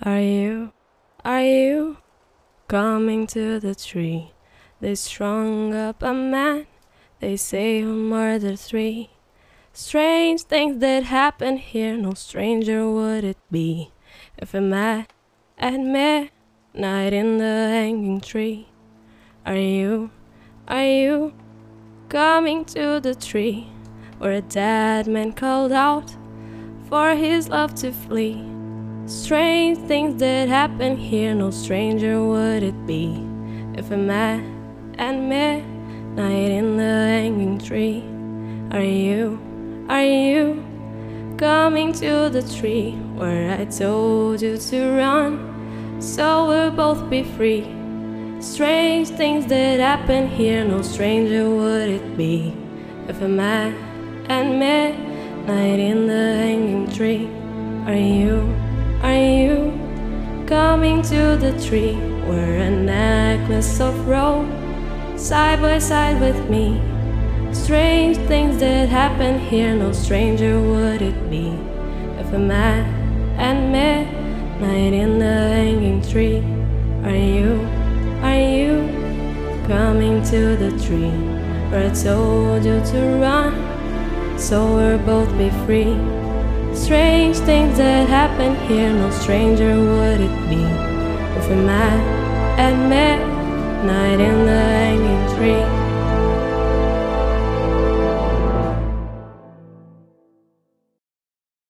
Are you coming to the tree? They strung up a man, they say he'll murder three. Strange things that happen here, no stranger would it be if I met at midnight in the hanging tree. Are you coming to the tree where a dead man called out for his love to flee? Strange things that happen here, no stranger would it be if I met at midnight in the hanging tree. Are you coming to the tree where I told you to run so we'll both be free? Strange things that happen here, no stranger would it be if I met at midnight in the hanging tree. Are you coming to the tree where a necklace of rope side by side with me? Strange things that happen here, no stranger would it be if I met at midnight in the hanging tree. Are you coming to the tree where I told you to run so we'll both be free? Strange things that happen here, no stranger would it be if I met at midnight in the hanging tree.